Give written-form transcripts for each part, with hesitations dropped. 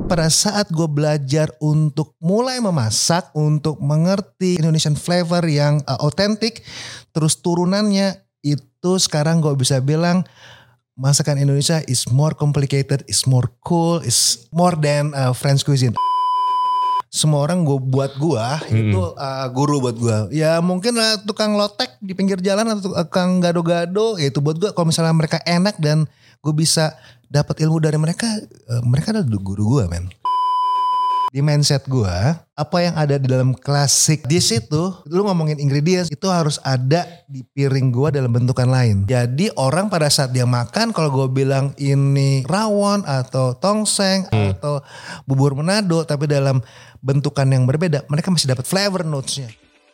pada saat gue belajar untuk mulai memasak, untuk mengerti Indonesian flavor yang authentic, terus turunannya itu sekarang gue bisa bilang masakan Indonesia is more complicated, is more cool, is more than French cuisine. Semua orang buat gue itu guru buat gue. Ya mungkin tukang lotek di pinggir jalan atau tukang gado-gado, ya itu buat gue. Kalau misalnya mereka enak dan gue bisa dapat ilmu dari mereka, mereka adalah guru gue, men. Di mindset gue, apa yang ada di dalam klasik dish itu, lu ngomongin ingredients, itu harus ada di piring gue dalam bentukan lain. Jadi orang pada saat dia makan, kalau gue bilang ini rawon atau tongseng atau bubur Manado, tapi dalam bentukan yang berbeda, mereka masih dapat flavor notes-nya.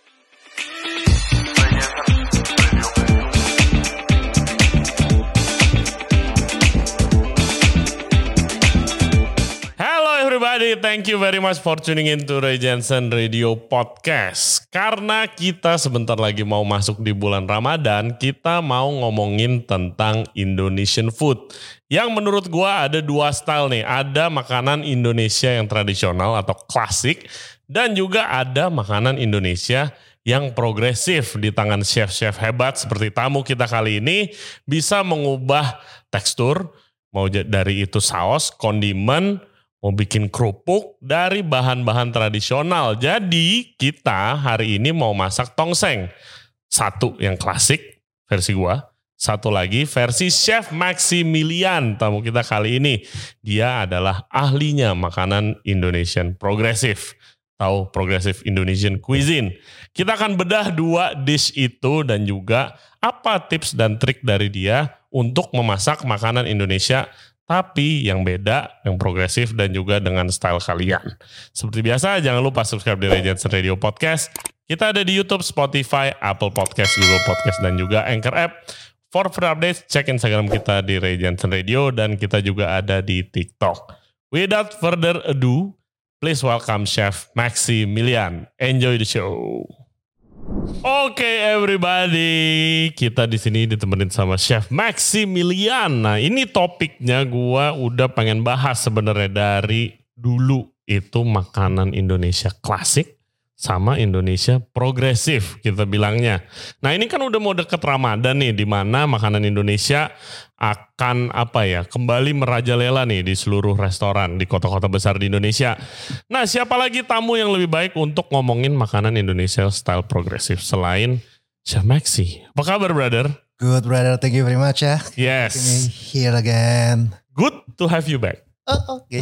Everybody, thank you very much for tuning in to Ray Jensen Radio Podcast. Karena kita sebentar lagi mau masuk di bulan Ramadan, kita mau ngomongin tentang Indonesian food. Yang menurut gua ada dua style nih. Ada makanan Indonesia yang tradisional atau klasik, dan juga ada makanan Indonesia yang progresif di tangan chef-chef hebat seperti tamu kita kali ini, bisa mengubah tekstur, mau dari itu saus, kondimen, mau bikin kerupuk dari bahan-bahan tradisional. Jadi kita hari ini mau masak tongseng. Satu yang klasik versi gua, satu lagi versi Chef Maximilian tamu kita kali ini. Dia adalah ahlinya makanan Indonesian progresif. Tahu progresif Indonesian cuisine. Kita akan bedah dua dish itu dan juga apa tips dan trik dari dia untuk memasak makanan Indonesia tapi yang beda, yang progresif dan juga dengan style kalian. Seperti biasa, jangan lupa subscribe di Ray Jensen Radio Podcast. Kita ada di YouTube, Spotify, Apple Podcast, Google Podcast, dan juga Anchor App. For further updates, cek Instagram kita di Ray Jensen Radio dan kita juga ada di TikTok. Without further ado, please welcome Chef Maximilian. Enjoy the show. Oke everybody, kita di sini ditemenin sama Chef Maximilian. Nah ini topiknya gua udah pengen bahas sebenarnya dari dulu, itu makanan Indonesia klasik sama Indonesia progresif kita bilangnya. Nah ini kan udah mau deket Ramadan nih, di mana makanan Indonesia akan kembali merajalela nih di seluruh restoran di kota-kota besar di Indonesia. Nah siapa lagi tamu yang lebih baik untuk ngomongin makanan Indonesia style progresif selain Chef Maxi. Apa kabar brother? Good brother, thank you very much ya. Yes. Here again. Good to have you back. Oh oke.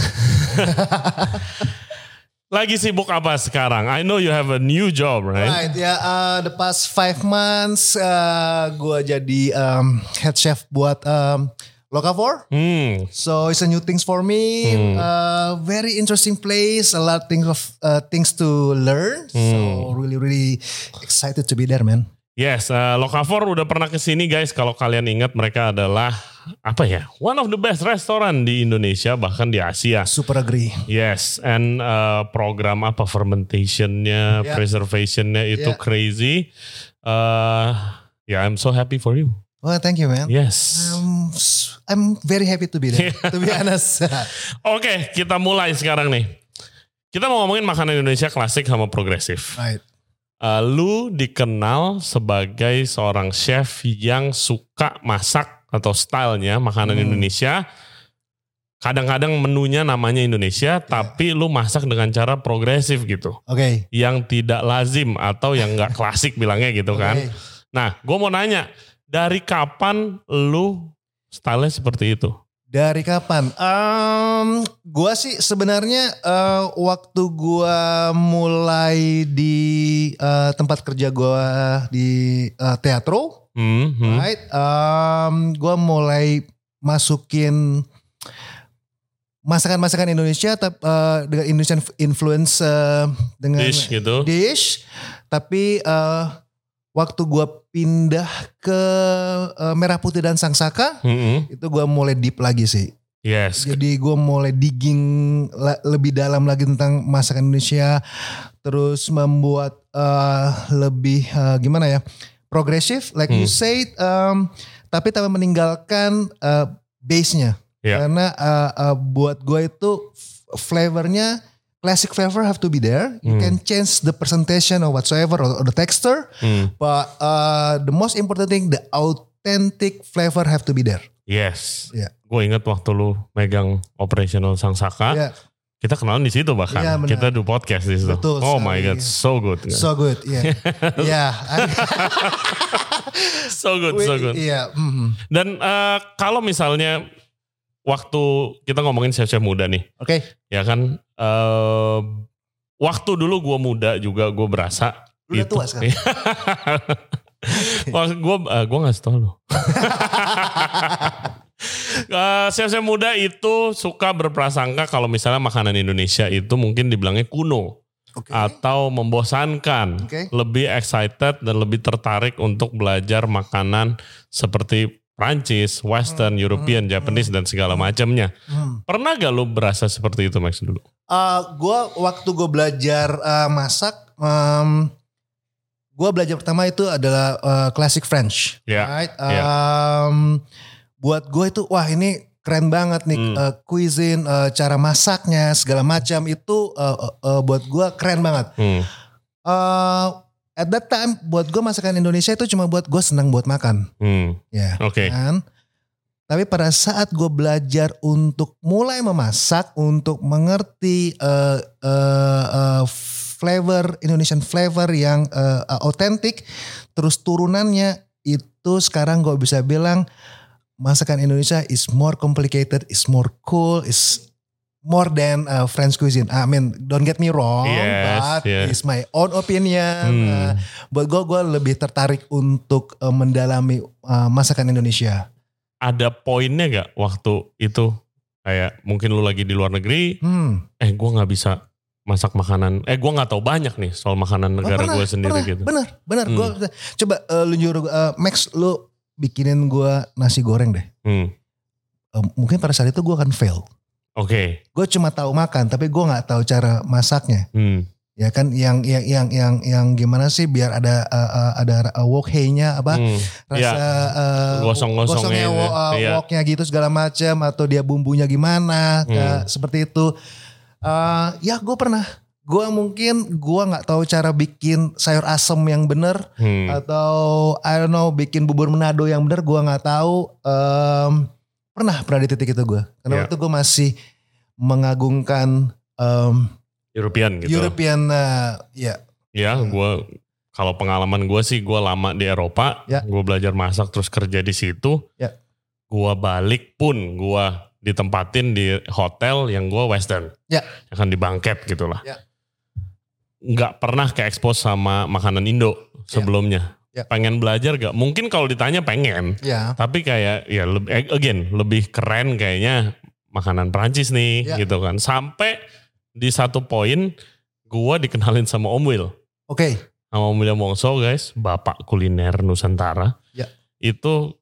Lagi sibuk apa sekarang? I know you have a new job, right? Right, the past 5 months gue jadi head chef buat Locavor. So it's a new things for me. Very interesting place, a lot of things to learn. So really excited to be there, man. Yes, Locavor udah pernah kesini guys. Kalau kalian ingat, mereka adalah one of the best restoran di Indonesia, bahkan di Asia. Super agree. Yes, and program fermentationnya, preservationnya itu crazy. I'm so happy for you. Well, thank you, man. Yes. I'm very happy to be there, to be honest. Oke, kita mulai sekarang nih. Kita mau ngomongin makanan Indonesia klasik sama progresif. Right. Lu dikenal sebagai seorang chef yang suka masak atau stylenya makanan Indonesia. Kadang-kadang menunya namanya Indonesia, tapi lu masak dengan cara progresif gitu. Oke. Yang tidak lazim atau yang gak klasik bilangnya gitu kan. Nah, gue mau nanya, dari kapan lu stylenya seperti itu? Dari kapan? Gua sih sebenarnya waktu gua mulai di tempat kerja gua di teatro, right? Gua mulai masukin masakan-masakan Indonesia dengan Indonesian influence dengan dish, tapi waktu gue pindah ke Merah Putih dan Sang Saka, itu gue mulai deep lagi sih. Yes. Jadi gue mulai digging lebih dalam lagi tentang masakan Indonesia, terus membuat lebih progresif, like you said, tapi tanpa meninggalkan base-nya. Karena buat gue itu flavornya, classic flavor have to be there. You can change the presentation or whatsoever or the texture, but the most important thing, the authentic flavor have to be there. Yes. Yeah. Gue inget waktu lu megang operational Sang Saka. Yeah. Kita kenalan di situ bahkan. Yeah, kita do podcast di situ. Betul, oh my god, so good. So good, yeah. Yeah. So good. Yeah. Dan kalau misalnya waktu kita ngomongin chef-chef muda nih. Oke. Ya kan, waktu dulu gue muda juga gue berasa. Lu udah tua sekarang. Gue ngasih tau lo. Chef-chef muda itu suka berprasangka kalau misalnya makanan Indonesia itu mungkin dibilangnya kuno. Atau membosankan. Lebih excited dan lebih tertarik untuk belajar makanan seperti Prancis, Western, European, Japanese dan segala macamnya. Pernah gak lu berasa seperti itu Max dulu? Waktu gue belajar masak, gue belajar pertama itu adalah classic French. Right? Buat gue itu wah ini keren banget nih cuisine, cara masaknya segala macam itu buat gue keren banget. At that time buat gue masakan Indonesia itu cuma buat gue senang buat makan. Ya. Oke. Kan? Tapi pada saat gue belajar untuk mulai memasak, untuk mengerti flavor Indonesian flavor yang authentic, terus turunannya itu sekarang gue bisa bilang masakan Indonesia is more complicated, is more cool, is more than French cuisine. I mean, don't get me wrong, but it's my own opinion. Buat gue lebih tertarik untuk mendalami masakan Indonesia. Ada poinnya gak waktu itu? Kayak mungkin lu lagi di luar negeri, gue gak bisa masak makanan, gue gak tahu banyak nih soal makanan negara gue sendiri gitu. Bener. Gue coba lu nyuruh Max, lu bikinin gue nasi goreng deh. Mungkin pada saat itu gue akan fail. Oke. Gue cuma tahu makan, tapi gue nggak tahu cara masaknya. Ya kan, yang gimana sih biar ada wok hey-nya apa rasa gosong-gosongnya woknya gitu segala macam, atau dia bumbunya gimana, seperti itu. Ya gue pernah. Gue nggak tahu cara bikin sayur asem yang bener, atau I don't know bikin bubur Manado yang bener, gue nggak tahu. Pernah di titik itu gue, karena waktu gue masih mengagungkan European gitu. Ya, gue kalau pengalaman gue sih, gue lama di Eropa, gue belajar masak terus kerja di situ. Gue balik pun gue ditempatin di hotel yang gue Western, akan di bangket gitulah. Nggak pernah ke-expose sama makanan Indo sebelumnya. Pengen belajar gak? Mungkin kalau ditanya pengen. Tapi kayak ya lebih keren kayaknya makanan Prancis nih gitu kan. Sampai di satu poin gue dikenalin sama Om Will. Sama Om William Wongso guys, bapak kuliner Nusantara. Itu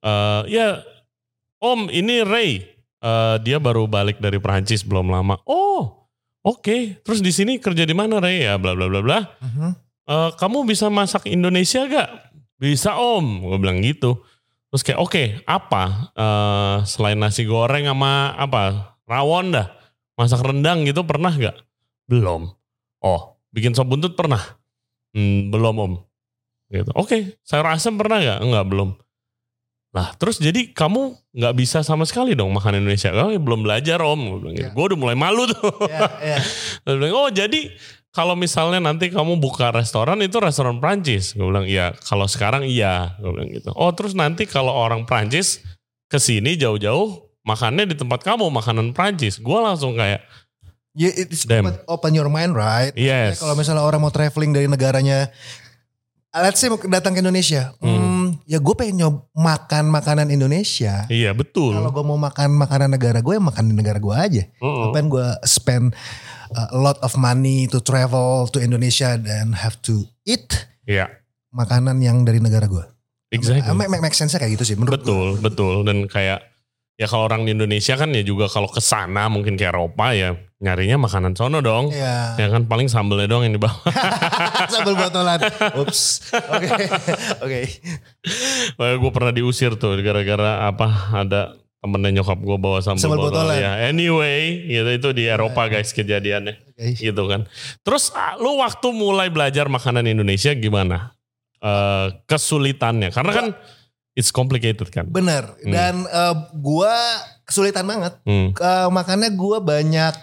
Om ini Ray. Dia baru balik dari Prancis belum lama. Oke. Terus di sini kerja di mana Ray? Ya bla bla bla bla. Kamu bisa masak Indonesia gak? Bisa Om, gue bilang gitu. Terus kayak oke, apa? Selain nasi goreng sama apa? Rawon dah. Masak rendang gitu pernah gak? Belum. Bikin sop buntut pernah? Belum Om. Gitu. Oke, sayur asam pernah gak? Enggak, belum. Lah terus jadi kamu gak bisa sama sekali dong makan Indonesia. Belum belajar Om. Gue bilang gitu. Gue udah mulai malu tuh. Terus bilang, jadi kalau misalnya nanti kamu buka restoran itu restoran Prancis. Gue bilang iya. Kalau sekarang iya. Gue bilang gitu. Terus nanti kalau orang Prancis kesini jauh-jauh makannya di tempat kamu makanan Prancis. Gue langsung kayak it's open your mind, right? Yes. Kalau misalnya orang mau traveling dari negaranya, let's say mau datang ke Indonesia, ya gue pengen makan makanan Indonesia. Iya betul. Kalau gue mau makan makanan negara gue, ya makan di negara gue aja. Ngapain gue spend a lot of money to travel to Indonesia dan have to eat makanan yang dari negara gue. Exactly. Make sense kayak gitu sih menurut gue. Betul. Dan kayak ya kalau orang di Indonesia kan ya juga kalau kesana mungkin ke Eropa ya nyarinya makanan sono dong. Ya kan paling sambelnya doang yang dibawa. Sambel botolan. Ups. Oke. Gue pernah diusir tuh gara-gara ada temennya nyokap gue bawa sambal botol ya. Anyway, gitu itu di Eropa guys kejadiannya, gitu kan. Terus lu waktu mulai belajar makanan Indonesia gimana? Kesulitannya, karena kan it's complicated kan. Bener. Dan gue kesulitan banget. Makanya gue banyak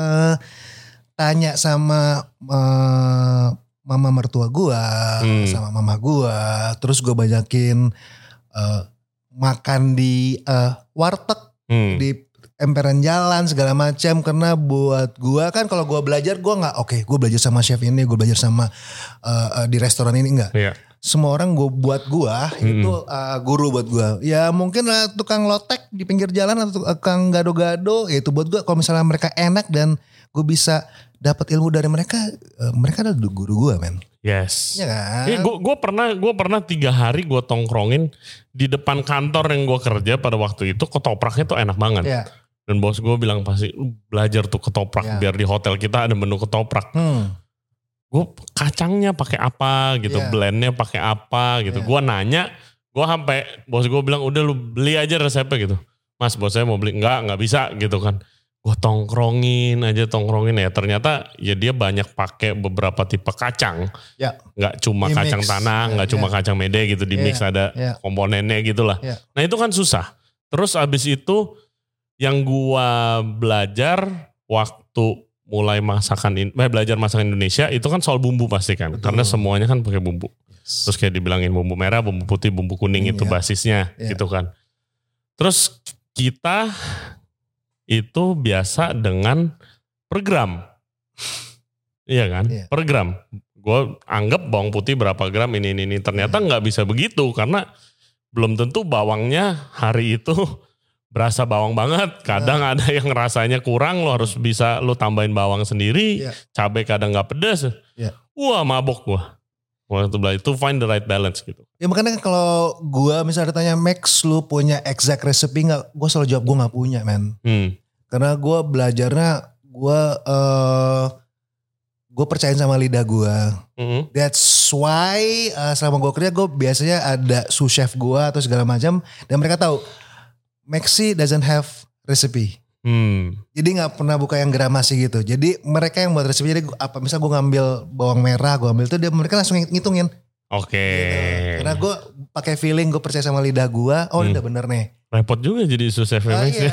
tanya sama mama mertua gue, sama mama gue. Terus gue banyakin makan di warteg, di emperan jalan segala macam. Karena buat gue kan kalau gue belajar gue nggak gue belajar sama chef ini, gue belajar sama di restoran ini enggak. Yeah. Semua orang buat gue itu guru buat gue. Ya mungkin tukang lotek di pinggir jalan atau tukang gado-gado, ya itu buat gue. Kalau misalnya mereka enak dan gue bisa dapat ilmu dari mereka, mereka adalah guru gue, men. Yes. Ya kan? Gue pernah 3 hari gue tongkrongin di depan kantor yang gue kerja pada waktu itu, ketopraknya tuh enak banget. Yeah. Dan bos gue bilang pasti belajar tuh ketoprak biar di hotel kita ada menu ketoprak. Gue kacangnya pakai apa gitu, blendnya pakai apa gitu. Gue nanya, gue sampai bos gue bilang udah lu beli aja resepnya gitu. Mas, bos saya mau beli, nggak bisa gitu kan. Gue tongkrongin ya, ternyata ya dia banyak pakai beberapa tipe kacang, nggak cuma di kacang mix. Tanah, nggak cuma kacang mede gitu, di mix ada komponennya gitulah. Nah itu kan susah. Terus abis itu yang gua belajar waktu mulai belajar masakan Indonesia itu kan soal bumbu pasti kan. Betul. Karena semuanya kan pakai bumbu. Yes. Terus kayak dibilangin bumbu merah, bumbu putih, bumbu kuning itu basisnya gitu kan. Terus kita itu biasa dengan per gram. Iya kan? Yeah. Per gram. Gue anggap bawang putih berapa gram ini. Ternyata nggak bisa begitu karena belum tentu bawangnya hari itu berasa bawang banget. Kadang ada yang rasanya kurang, lo harus bisa lo tambahin bawang sendiri. Cabai kadang gak pedas. Wah mabok gue. Waktu belajar itu find the right balance gitu. Ya makanya kalau gue misalnya ditanya Max lu punya exact recipe gak? Gue selalu jawab gue gak punya man. Karena gue belajarnya gue percayain sama lidah gue. That's why selama gue kerja gue biasanya ada sous chef gue atau segala macam. Dan mereka tahu Maxi doesn't have recipe. Jadi gak pernah buka yang gramasi gitu. Jadi mereka yang buat recipe. Jadi misal gue ngambil bawang merah, gue ambil itu mereka langsung ngitungin. Oke. Gitu. Karena gue pakai feeling, gue percaya sama lidah gue. Oh ini udah bener nih. Repot juga jadi sous chef Maxi.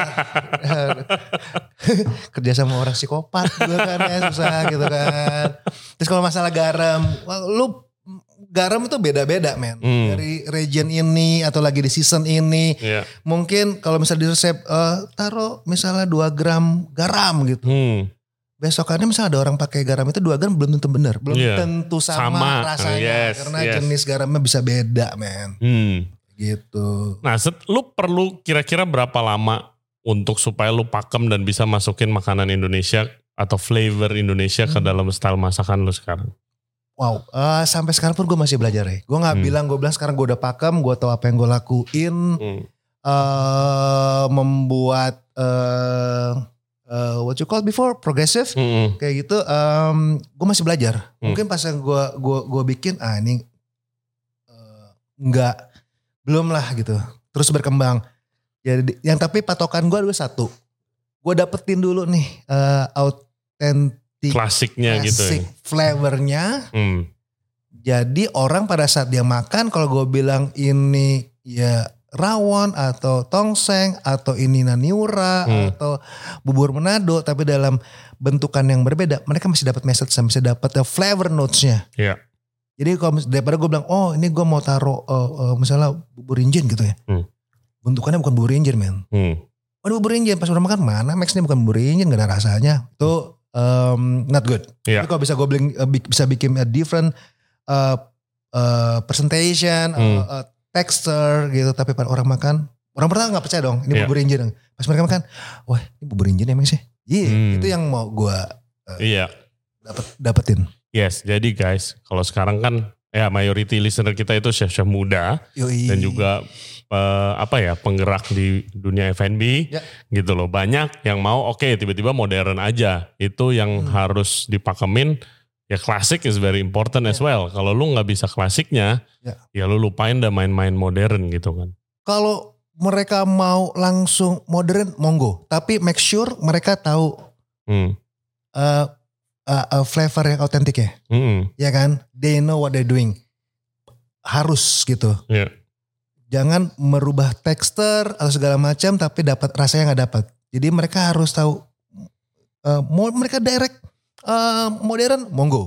Kerja sama orang psikopat gue kan ya susah gitu kan. Terus kalau masalah garam, garam itu beda-beda men. Dari region ini atau lagi di season ini. Mungkin kalau misalnya di resep taruh misalnya 2 gram garam gitu. Besokannya misalnya ada orang pakai garam itu 2 gram belum tentu benar. Belum tentu sama rasanya. Karena jenis garamnya bisa beda men. Gitu. Nah lu perlu kira-kira berapa lama untuk supaya lu pakem dan bisa masukin makanan Indonesia atau flavor Indonesia ke dalam style masakan lu sekarang? Wow, sampai sekarang pun gue masih belajar ya. Gue bilang sekarang gue udah pakem, gue tahu apa yang gue lakuin. Membuat what you call before progressive, kayak gitu. Gue masih belajar. Mungkin pas yang gue bikin, ini belum lah gitu. Terus berkembang. Jadi yang tapi patokan gue adalah satu. Gue dapetin dulu nih klasiknya gitu ya. Flavornya. Jadi orang pada saat dia makan, kalau gue bilang ini ya rawon atau tongseng atau ini naniura atau bubur Manado, tapi dalam bentukan yang berbeda, mereka masih dapat message, masih dapat flavor notes-nya. Iya. Jadi kalau daripada gue bilang, oh ini gue mau taruh misalnya bubur injen gitu ya. Bentukannya bukan bubur injen men. Oh ini bubur injen, pas udah makan mana Max ini bukan bubur injen, gak ada rasanya. Itu not good. Tapi kalau bisa gue bisa bikin a different presentation, texture gitu. Tapi pada orang makan, orang pertama gak percaya dong ini bubur injen. Pas mereka makan, wah ini bubur injen ya Max ya. Itu yang mau gue dapetin. Yes, jadi guys, kalau sekarang kan ya majority listener kita itu chef-chef muda. Dan juga penggerak di dunia F&B gitu loh. Banyak yang mau tiba-tiba modern aja. Itu yang harus dipakemin. Ya klasik is very important as well. Kalau lu gak bisa klasiknya, ya lu lupain dah main-main modern gitu kan. Kalau mereka mau langsung modern, monggo. Tapi make sure mereka tahu flavor yang autentik ya. Ya kan? They know what they're doing. Harus gitu. Yeah. Jangan merubah tekstur atau segala macam tapi dapat rasanya nggak dapat. Jadi mereka harus tahu. Mereka direct modern, monggo.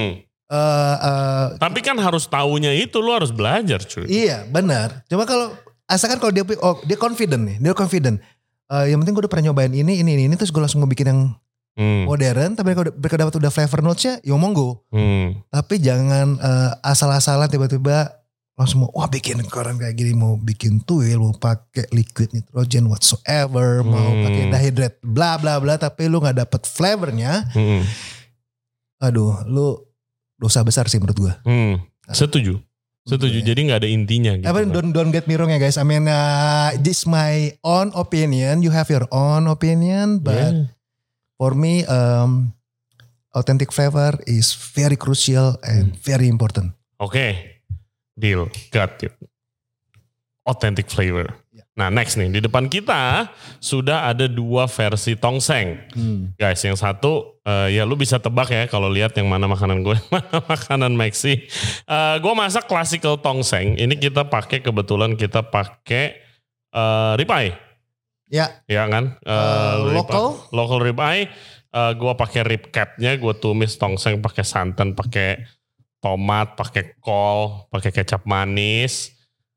Tapi kan harus tahunya itu lu harus belajar cuy. Iya benar. Cuma kalau asalkan kalau dia confident nih, dia confident. Yang penting gue udah pernah nyobain ini terus gue langsung mau bikin yang modern. Tapi kalau mereka dapat udah flavor notes-nya, ya monggo. Tapi jangan asal-asalan tiba-tiba langsung mau bikin koran kayak gini, mau bikin tuil, mau pakai liquid nitrogen whatsoever, mau pakai dehydrate, bla bla bla. Tapi lu nggak dapet flavornya, aduh, lu dosa besar sih menurut gue. Setuju. Jadi nggak ada intinya. Gitu kan. Don't get me wrong ya guys. I mean, this my own opinion. You have your own opinion, but for me, authentic flavor is very crucial and very important. Oke, deal, got it. Authentic flavor. Nah next nih, di depan kita sudah ada 2 versi tongseng. Guys, yang satu ya lu bisa tebak ya kalau lihat yang mana makanan gue, mana makanan Maxi. Gue masak classical tongseng. Ini kebetulan kita pakai ribeye. Ya. Ya kan? Local ribeye. Gue pakai rib capnya, gue tumis tongseng pakai santan, pakai tomat, pakai kol, pakai kecap manis.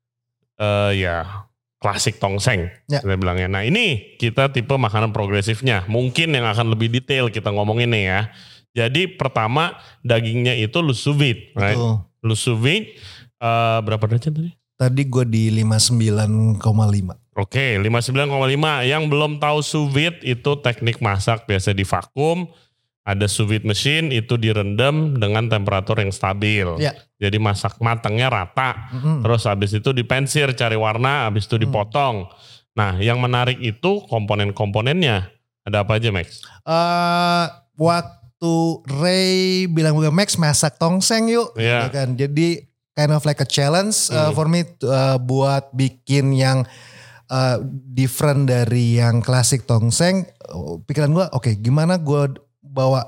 Klasik tongseng, kita bilangnya. Nah ini kita tipe makanan progresifnya. Mungkin yang akan lebih detail kita ngomongin nih ya. Jadi pertama dagingnya itu lu sous vide, right? Lu sous vide, berapa derajat tadi? Tadi gue di 59,5. Oke, 59,5. Yang belum tahu sous vide itu teknik masak biasa di vakum. Ada sous vide machine itu direndam dengan temperatur yang stabil. Ya. Jadi masak matangnya rata. Terus habis itu dipensir cari warna, habis itu dipotong. Nah, yang menarik itu komponen-komponennya. Ada apa aja, Max? Waktu Ray bilang Max masak tongseng yuk. Yeah. Gitu kan. Jadi kind of like a challenge for me buat bikin yang different dari yang klasik tongseng. Pikiran gue, oke, gimana gue bawa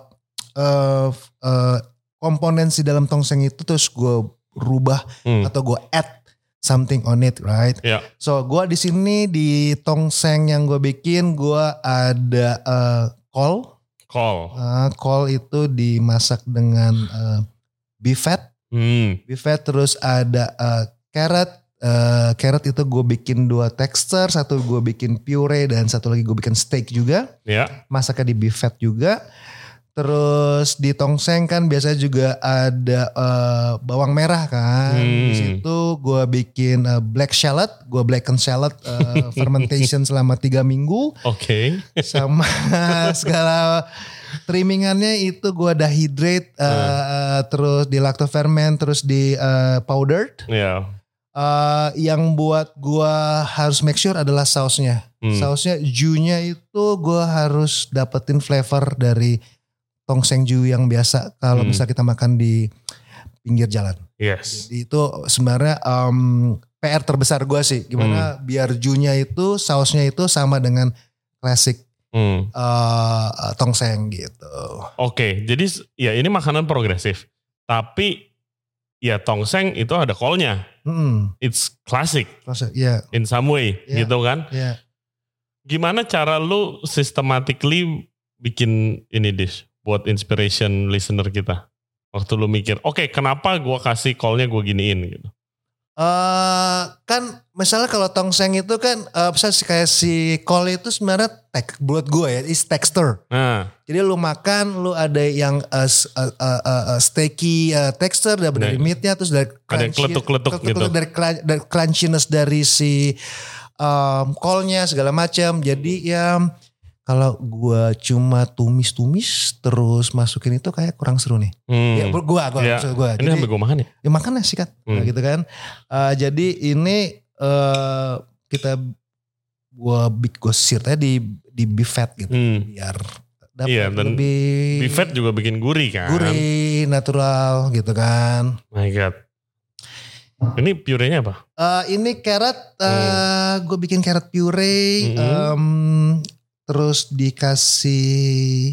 komponen si dalam tongseng itu terus gue rubah atau gue add something on it, right? Yeah. So gue di sini di tongseng yang gue bikin gue ada kol. Kol itu dimasak dengan beef fat. Beef fat, terus ada carrot. Carrot itu gue bikin 2 tekstur, satu gue bikin puree dan satu lagi gue bikin steak juga. Yeah. Masaknya di beef fat juga. Terus di tongseng kan biasanya juga ada bawang merah kan. Di situ gue bikin black shallot, gue blacken shallot fermentation selama 3 minggu. Oke. Sama segala trimmingannya itu gue dehydrate, terus di lactoferment, terus di powdered. Iya. Yang buat gue harus make sure adalah sausnya. Sausnya jus-nya itu gue harus dapetin flavor dari tongseng jus yang biasa kalau bisa kita makan di pinggir jalan. Yes. Jadi itu sebenarnya PR terbesar gue sih. Gimana biar jus-nya itu, sausnya itu sama dengan klasik tongseng gitu. Oke, jadi ya ini makanan progresif. Tapi ya tongseng itu ada kolnya. It's classic. Yeah. In some way, gitu kan. Yeah. Gimana cara lu systematically bikin ini dish buat inspiration listener kita? Waktu lu mikir, oke, kenapa gue kasih kolnya gue giniin gitu. Kan misalnya kalau tongseng itu kan misalnya kayak si kol itu sebenarnya buat gue ya is texture. Jadi lu makan, lu ada yang steaky texture dari meatnya, terus dari ada kletuk-kletuk gitu. Dari crunchiness dari si kolnya segala macam. Jadi ya kalau gue cuma tumis-tumis terus masukin itu kayak kurang seru nih. Ya gue. Ini sampai gue makan ya? Ya makan lah sikat, gitu kan. Jadi ini gue sirnya di beef fat gitu, biar dapat lebih. Beef fat juga bikin gurih kan? Gurih, natural gitu kan. My God. Ini purenya apa? Ini carrot, gue bikin carrot puree, terus dikasih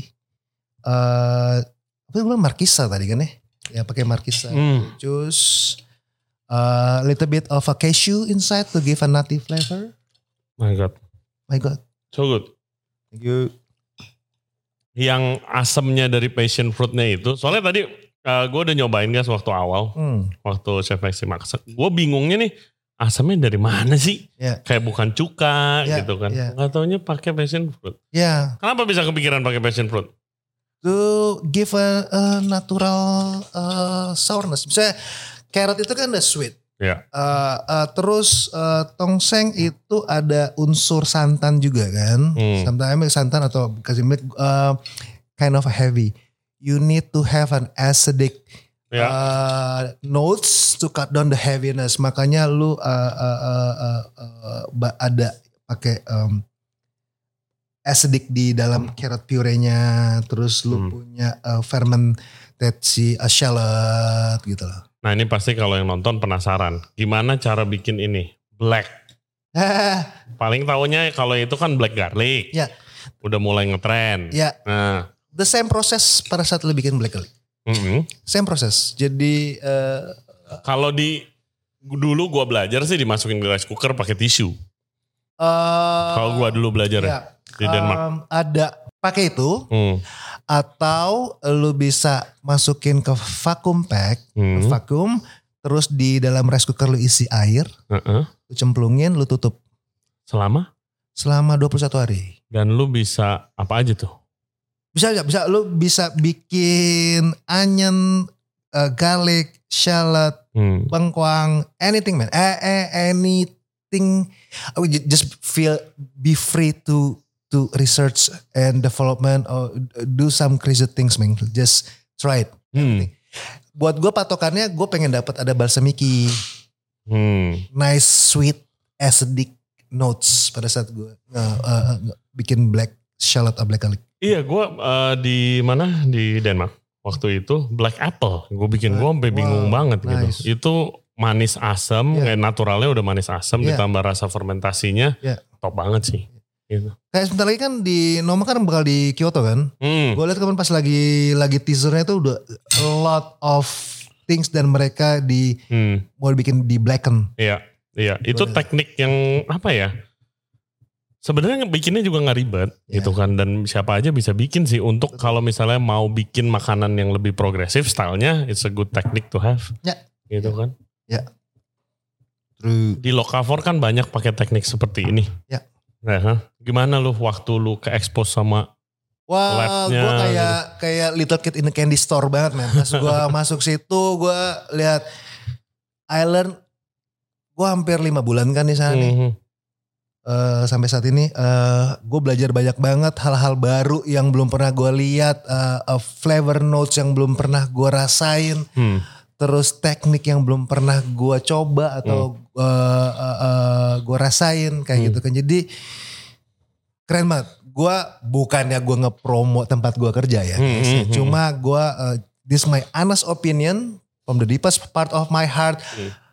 apa gue bilang markisa tadi kan ya pakai markisa, jus, little bit of a cashew inside to give a nutty flavor. My God, so good. Thank you. Yang asamnya dari passion fruitnya itu, soalnya tadi gue udah nyobain guys waktu awal, waktu Chef Maxi masak, gue bingungnya nih asamnya dari mana sih? Kayak bukan cuka gitu kan? Nggak taunya pakai passion fruit. Kenapa bisa kepikiran pakai passion fruit? To give a natural sourness. Misalnya carrot itu kan udah sweet. Terus tongseng itu ada unsur santan juga kan. Sometimes santan atau kasih milk kind of heavy. You need to have an acidic notes to cut down the heaviness. Makanya lu ada pakai acidic di dalam carrot puree-nya. Terus lu punya fermented si shallot gitu loh. Nah ini pasti kalau yang nonton penasaran. Gimana cara bikin ini? Black. Paling taunya kalau itu kan black garlic. Udah mulai ngetren. Nah. The same proses pada saat lu bikin black garlic. Same proses. Jadi kalau dulu gua belajar sih dimasukin ke rice cooker pakai tisu. Kalau gua dulu belajar di Denmark. Ada pakai itu. Atau lu bisa masukin ke vacuum pack, vacuum, terus di dalam rice cooker lu isi air, lu cemplungin, lu tutup. Selama 21 hari. Dan lu bisa apa aja tuh? Bisa lu bisa bikin onion, garlic, shallot, bengkoang, anything man, anything. Just be free to research and development or do some crazy things man. Just try it. Buat gue patokannya gue pengen dapat ada balsamiki. Nice sweet acidic notes pada saat gue bikin black shallot atau black garlic. Iya gue di mana di Denmark waktu itu black apple. Gue bikin gue sampai bingung banget gitu. Itu manis asam, kayak naturalnya udah manis asam ditambah rasa fermentasinya top banget sih. Gitu. Kayak sebentar lagi kan di Noma kan bakal di Kyoto kan. Gue lihat kemarin pas lagi teasernya tuh udah a lot of things dan mereka mau dibikin di blacken. Iya. Itu teknik yang apa ya? Sebenarnya bikinnya juga nggak ribet gitu kan, dan siapa aja bisa bikin sih. Untuk kalau misalnya mau bikin makanan yang lebih progresif stylenya, it's a good technique to have. Gitu kan. Di Locavor kan banyak pakai teknik seperti ini. Nah, gimana lu waktu lu ke expose sama labnya? Gue kayak little kid in the candy store banget man. Pas gue masuk situ gue lihat Island, gue hampir 5 bulan kan di sana nih. Sampai saat ini gue belajar banyak banget hal-hal baru yang belum pernah gue lihat, flavor notes yang belum pernah gue rasain, terus teknik yang belum pernah gue coba atau gue rasain kayak gitu kan. Jadi keren banget. Gue bukannya gue ngepromo tempat gue kerja ya, cuma gue this my honest opinion from the deepest part of my heart.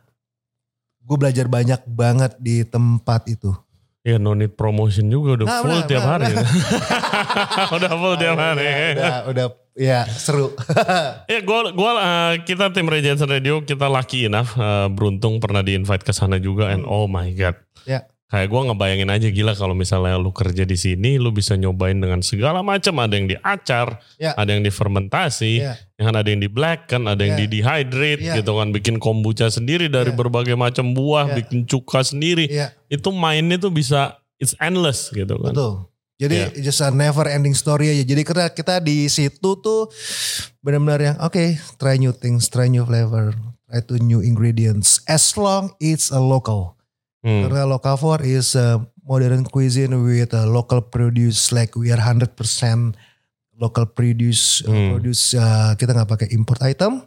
Gue belajar banyak banget di tempat itu. Ya no need promotion juga udah full tiap hari. Udah full tiap hari. Udah ya seru. Ya kita tim Ray Jensen Radio kita lucky enough, beruntung pernah di-invite ke sana juga and oh my god. Kayak gue ngebayangin aja gila kalau misalnya lu kerja di sini, lu bisa nyobain dengan segala macam. Ada yang diacar, ada yang difermentasi, yang ada yang di blacken, ada yang di dehydrate gitu kan. Bikin kombucha sendiri dari berbagai macam buah, bikin cuka sendiri. Itu mainnya tuh bisa, it's endless gitu kan. Betul. Jadi just a never ending story aja. Jadi kita di situ tuh benar-benar yang try new things, try new flavor, try to new ingredients. As long it's a local. Karena Locavor is a modern cuisine with a local produce, like we are 100% local produce. Kita nggak pakai import item.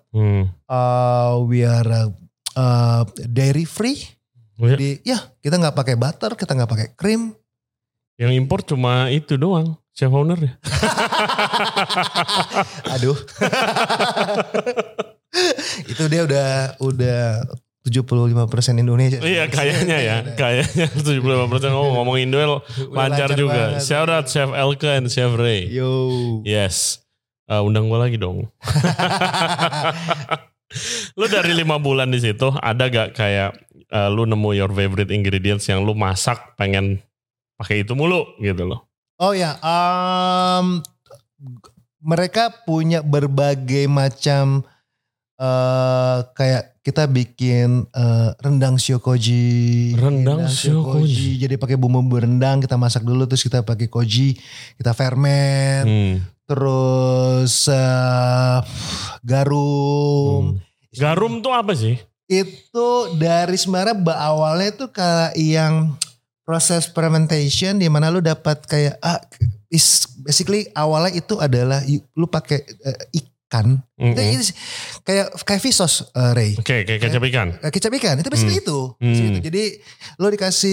We are dairy free. Jadi kita nggak pakai butter, kita nggak pakai cream. Yang import cuma itu doang, chef owner ya. Aduh. Itu dia udah 75% Indonesia. Iya kayaknya ya. Kayaknya 75% ngomong Indo lancar juga. banget. Shout out Chef Elke and Chef Ray. Yo. Yes. Undang gue lagi dong. Lu dari 5 bulan di situ ada gak kayak lu nemu your favorite ingredients yang lu masak pengen pakai itu mulu gitu loh? Oh ya, mereka punya berbagai macam kayak kita bikin rendang shiokoji. Rendang shiokoji. Jadi pakai bumbu rendang kita masak dulu terus kita pakai koji, kita ferment. Terus garum. Garum tuh apa sih? Itu dari sebenarnya awalnya itu kayak yang proses fermentation di mana lu dapat kayak basically awalnya itu adalah lu pakai ikan. Kayak fish sauce, Ray. Oke, kayak kecap ikan. Kecap ikan itu basically itu. Jadi lu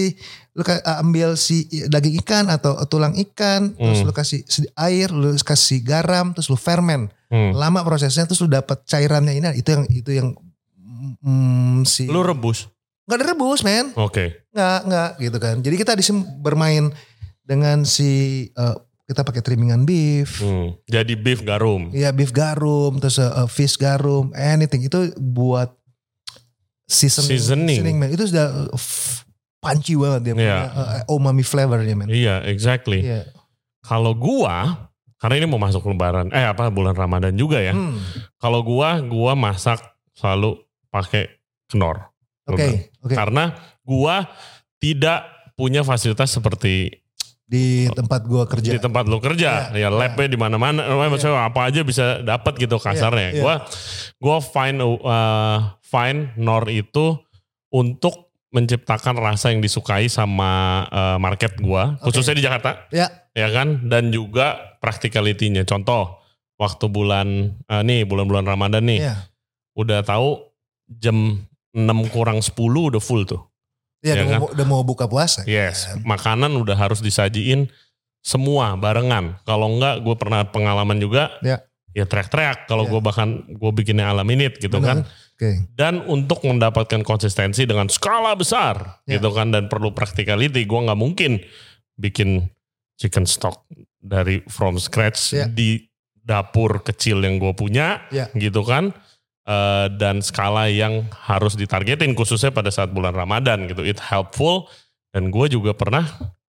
ambil si daging ikan atau tulang ikan, terus lu kasih air, lu kasih garam, terus lu ferment. Lama prosesnya terus lu dapat cairannya ini. Itu yang Lu rebus? Gak ada rebus, men. Oke. Nggak gitu kan. Jadi kita di sini bermain dengan kita pakai trimmingan beef. Jadi beef garum. Iya, beef garum, terus fish garum, anything itu buat seasoning man. Itu sudah punchy banget dia punya umami flavornya, man. Iya, exactly. Yeah. Kalau gua, karena ini mau masuk lebaran, bulan Ramadan juga ya. Kalau gua masak selalu pakai kenor. Oke. Karena gua tidak punya fasilitas seperti di tempat gua kerja. Di tempat lu kerja, labnya di mana-mana, maksudnya apa aja bisa dapat gitu kasarnya. Gua find nor itu untuk menciptakan rasa yang disukai sama market gua, khususnya di Jakarta. Ya kan, dan juga practicality-nya. Contoh, waktu bulan-bulan Ramadan nih, udah tahu jam 6:50 udah full tuh. Iya, kan? Udah mau buka puasa. Yes, makanan udah harus disajiin semua barengan. Kalau enggak, gue pernah pengalaman juga, ya teriak-teriak. Kalau gue bikinnya ala minute gitu. Benar. Kan. Dan untuk mendapatkan konsistensi dengan skala besar gitu kan, dan perlu practicality, gue nggak mungkin bikin chicken stock dari from scratch di dapur kecil yang gue punya gitu kan. Dan skala yang harus ditargetin khususnya pada saat bulan Ramadan gitu. It helpful. Dan gue juga pernah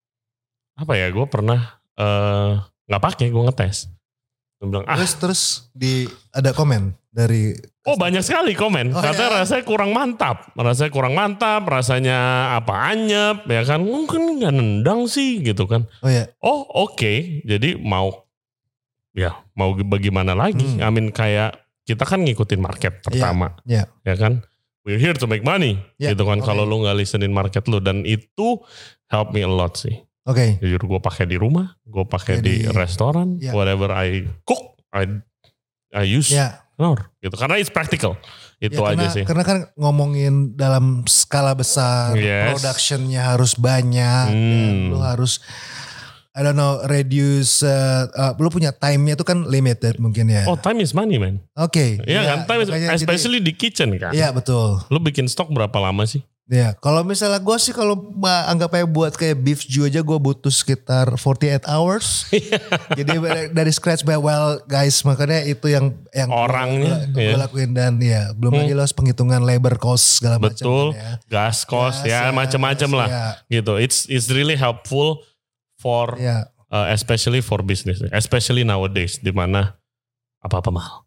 nggak pakai, gue ngetes. Gue bilang terus ada komen dari banyak sekali komen. Katanya rasanya kurang mantap, rasanya anyep ya kan, mungkin nggak nendang sih gitu kan. Oke. Jadi mau bagaimana lagi? Kayak kita kan ngikutin market pertama, ya kan. We're here to make money, gitu kan. Kalau lu nggak listenin market lu, dan itu help me a lot sih. Jujur gue pakai di rumah, gue pakai di restoran, whatever I cook, I use kenor, gitu. Karena it's practical, itu aja sih. Karena kan ngomongin dalam skala besar, productionnya harus banyak, dan lu harus reduce, lu punya time-nya itu kan limited mungkin ya. Time is money, man. Iya kan, time is, especially di kitchen kan. Iya, betul. Lu bikin stok berapa lama sih? Iya, kalau misalnya gue sih kalau anggap aja buat kayak beef stew aja gue butuh sekitar 48 hours. Jadi dari scratch, guys, makanya itu yang orangnya gue lakuin, dan belum lagi lo harus penghitungan labor cost segala macam. Betul, gas cost macam-macam lah. Gitu. It's really helpful for especially for business, especially nowadays di mana apa-apa mahal.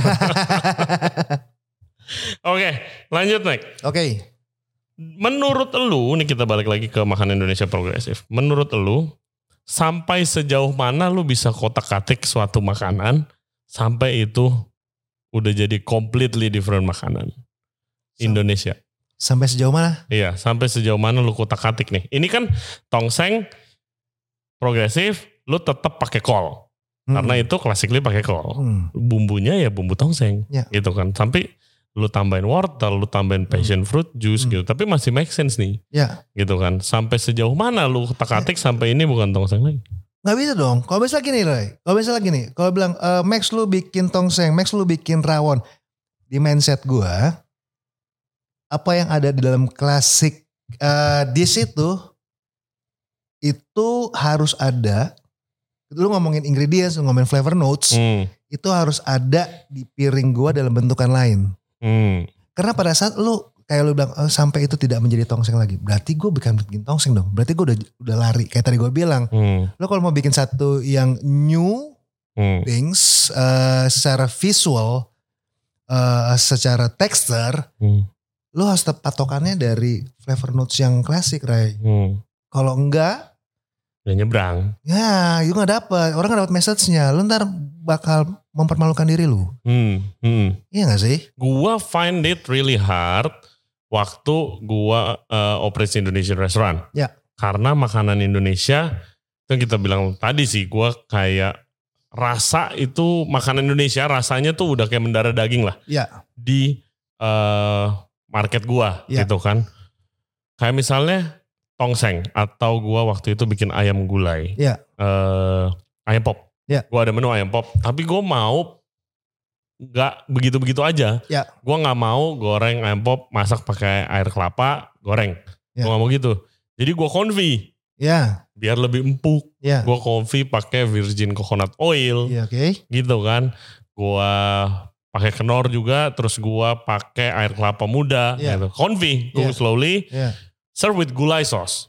Oke, lanjut Mike. Menurut lu, nih kita balik lagi ke Makan Indonesia Progresif. Menurut lu, sampai sejauh mana lu bisa kotak-katik suatu makanan sampai itu udah jadi completely different makanan Indonesia? Sampai sejauh mana? Iya, sampai sejauh mana lu kotak-katik nih? Ini kan tongseng progresif, lu tetap pakai kol. Karena itu klasikly pakai kol. Bumbunya ya bumbu tongseng gitu kan. Sampai lu tambahin wortel, lu tambahin passion fruit juice gitu. Tapi masih make sense nih. Gitu kan. Sampai sejauh mana lu kotak-katik sampai ini bukan tongseng lagi? Gak bisa dong. Kalau misalnya gini Roy. Kalau bilang Max lu bikin tongseng, Max lu bikin rawon. Di mindset gue, apa yang ada di dalam classic dish itu harus ada. Lu ngomongin ingredients, lu ngomongin flavor notes, itu harus ada di piring gua dalam bentukan lain. Karena pada saat kayak lu bilang sampai itu tidak menjadi tongseng lagi, berarti gue bikin tongseng dong. Berarti gue udah lari. Kayak tadi gue bilang, lu kalau mau bikin satu yang new things secara visual, secara texture, lu harus patokannya dari flavor notes yang klasik, Ray. Kalau enggak, udah nyebrang. Ya, itu gak dapet. Orang gak dapet message-nya. Lu ntar bakal mempermalukan diri lu. Iya gak sih? Gua find it really hard waktu gua operasi Indonesian restaurant. Ya. Karena makanan Indonesia, itu kita bilang tadi sih, gua kayak rasa itu makanan Indonesia rasanya tuh udah kayak mendarah daging lah. Ya. Di market gua gitu kan. Kayak misalnya tongseng atau gua waktu itu bikin ayam gulai, ayam pop. Gua ada menu ayam pop, tapi gua mau nggak begitu-begitu aja. Gua nggak mau goreng ayam pop masak pakai air kelapa goreng. Gua nggak mau gitu. Jadi gua konfi. Biar lebih empuk. Gua konfi pakai virgin coconut oil. Gitu kan. Gua pakai kenor juga, terus gua pakai air kelapa muda. Gitu. Konfi, cook slowly. Serve with gulai sauce.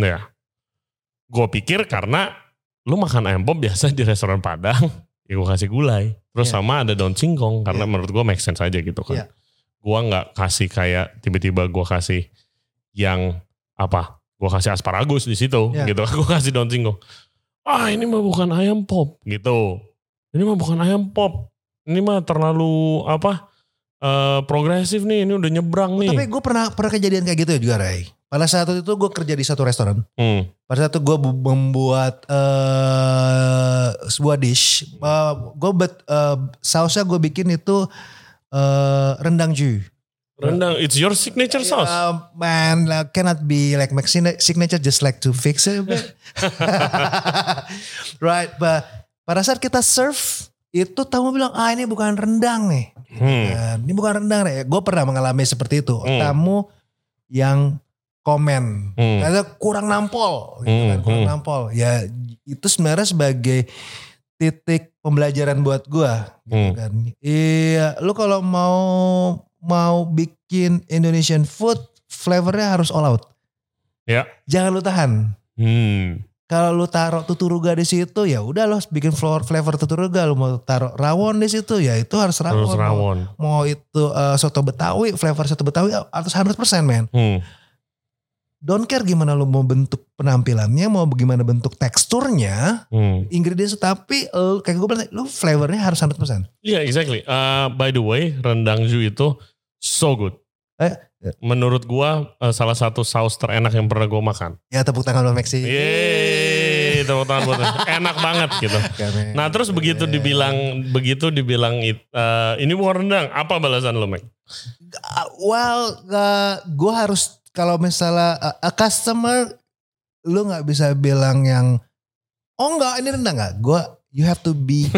Gue pikir karena lu makan ayam pop biasa di restoran Padang, ya gue kasih gulai. Terus sama ada daun singkong, karena menurut gue make sense aja gitu kan. Gue gak kasih kayak tiba-tiba gue kasih yang gue kasih asparagus di situ gitu. Gue kasih daun singkong. Ini mah bukan ayam pop gitu. Ini mah bukan ayam pop. Ini mah terlalu progresif nih, ini udah nyebrang nih. Tapi gue pernah kejadian kayak gitu juga, Ray. Pada saat itu gue kerja di satu restoran. Pada saat itu gue membuat sebuah dish. Sausnya gue bikin itu rendang ju. Rendang, it's your signature sauce. Man, cannot be like my signature, just like to fix it a bit. Right, but pada saat kita serve, itu tamu bilang, ini bukan rendang nih. Ini bukan rendang nih. Gue pernah mengalami seperti itu. Tamu yang komen, karena kurang nampol, gitu kan, kurang nampol. Ya itu sebenarnya sebagai titik pembelajaran buat gue, gitu kan. Iya, lu kalau mau bikin Indonesian food, flavornya harus all out. Jangan lu tahan. Kalau lu taruh tuturuga di situ, ya udah lo bikin flavor tuturuga. Lu mau taruh rawon di situ, ya itu harus rawon. Mau itu soto Betawi, flavor soto Betawi harus 100% man. Don't care gimana lu mau bentuk penampilannya, mau bagaimana bentuk teksturnya, ingredients, tapi kayak gue bilang, lu flavornya harus 100%. Iya, exactly. By the way, rendang ju itu so good. Menurut gua salah satu saus terenak yang pernah gua makan. Ya, tepuk tangan buat Maxi. Yeay, tepuk tangan buat enak banget gitu. Nah terus begitu dibilang ini bukan rendang, apa balasan lo, Mac? Well, gue harus, kalau misalnya a customer, lu nggak bisa bilang yang enggak ini rendang nggak. You have to be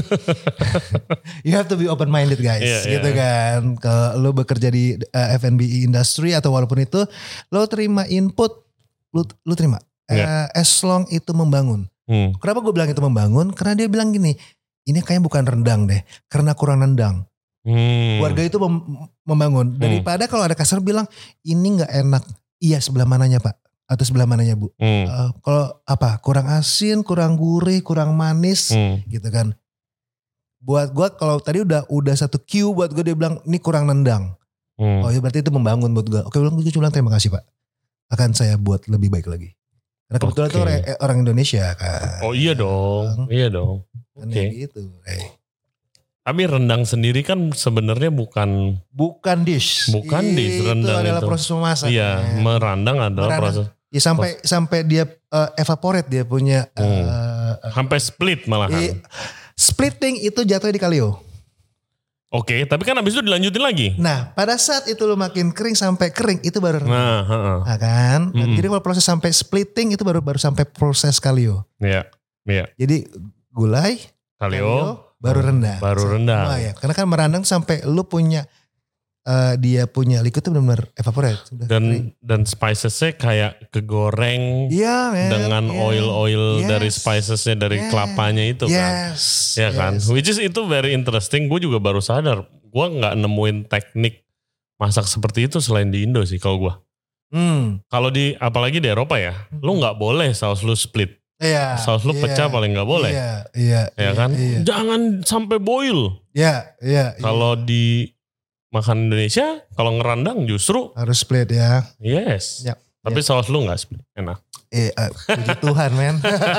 open minded guys, gitu kan. Kalau lu bekerja di F&B industry atau walaupun itu lu terima input, lu terima. As long itu membangun. Kenapa gue bilang itu membangun? Karena dia bilang gini, ini kayaknya bukan rendang deh, karena kurang nendang. Warga itu membangun. Daripada kalau ada customer bilang ini nggak enak, iya sebelah mananya Pak? Atau sebelah mananya Bu? Kalau kurang asin, kurang gurih, kurang manis, gitu kan. Buat gue kalau tadi udah satu cue buat gue, dia bilang ini kurang nendang. Oh ya berarti itu membangun buat gue. Oke, gue cuma bilang terima kasih Pak. Akan saya buat lebih baik lagi. Karena kebetulan itu orang Indonesia kan. Oh iya dong. Kan gitu. Tapi rendang sendiri kan sebenarnya bukan dish. Bukan dish, rendang itu adalah proses memasak. Iya, merandang adalah proses. Ya sampai dia evaporate, dia punya sampai split malahan. Splitting itu jatuhnya di kalio. Oke, tapi kan abis itu dilanjutin lagi. Nah, pada saat itu lo makin kering sampai kering itu baru rendang. Nah, kan? Jadi kalau proses sampai splitting itu baru sampai proses kalio. Iya. Jadi gulai, kalio baru rendang. Baru rendang. Ya. Karena kan merandang sampai lu punya dia punya liquid itu benar-benar evaporate. Udah kering. Dan spicesnya kayak kegoreng dengan oil dari spicesnya dari kelapanya itu kan. Ya kan. Which is itu very interesting. Gue juga baru sadar. Gue gak nemuin teknik masak seperti itu selain di Indo sih kalau gue. Kalau apalagi di Eropa ya. Lu gak boleh saus lu split. Saus lu pecah paling gak boleh. Iya kan. Jangan sampai boil. Kalau di makan Indonesia, kalau ngerandang justru harus split ya. Yes. Tapi saus lu gak split, enak. Puji Tuhan men.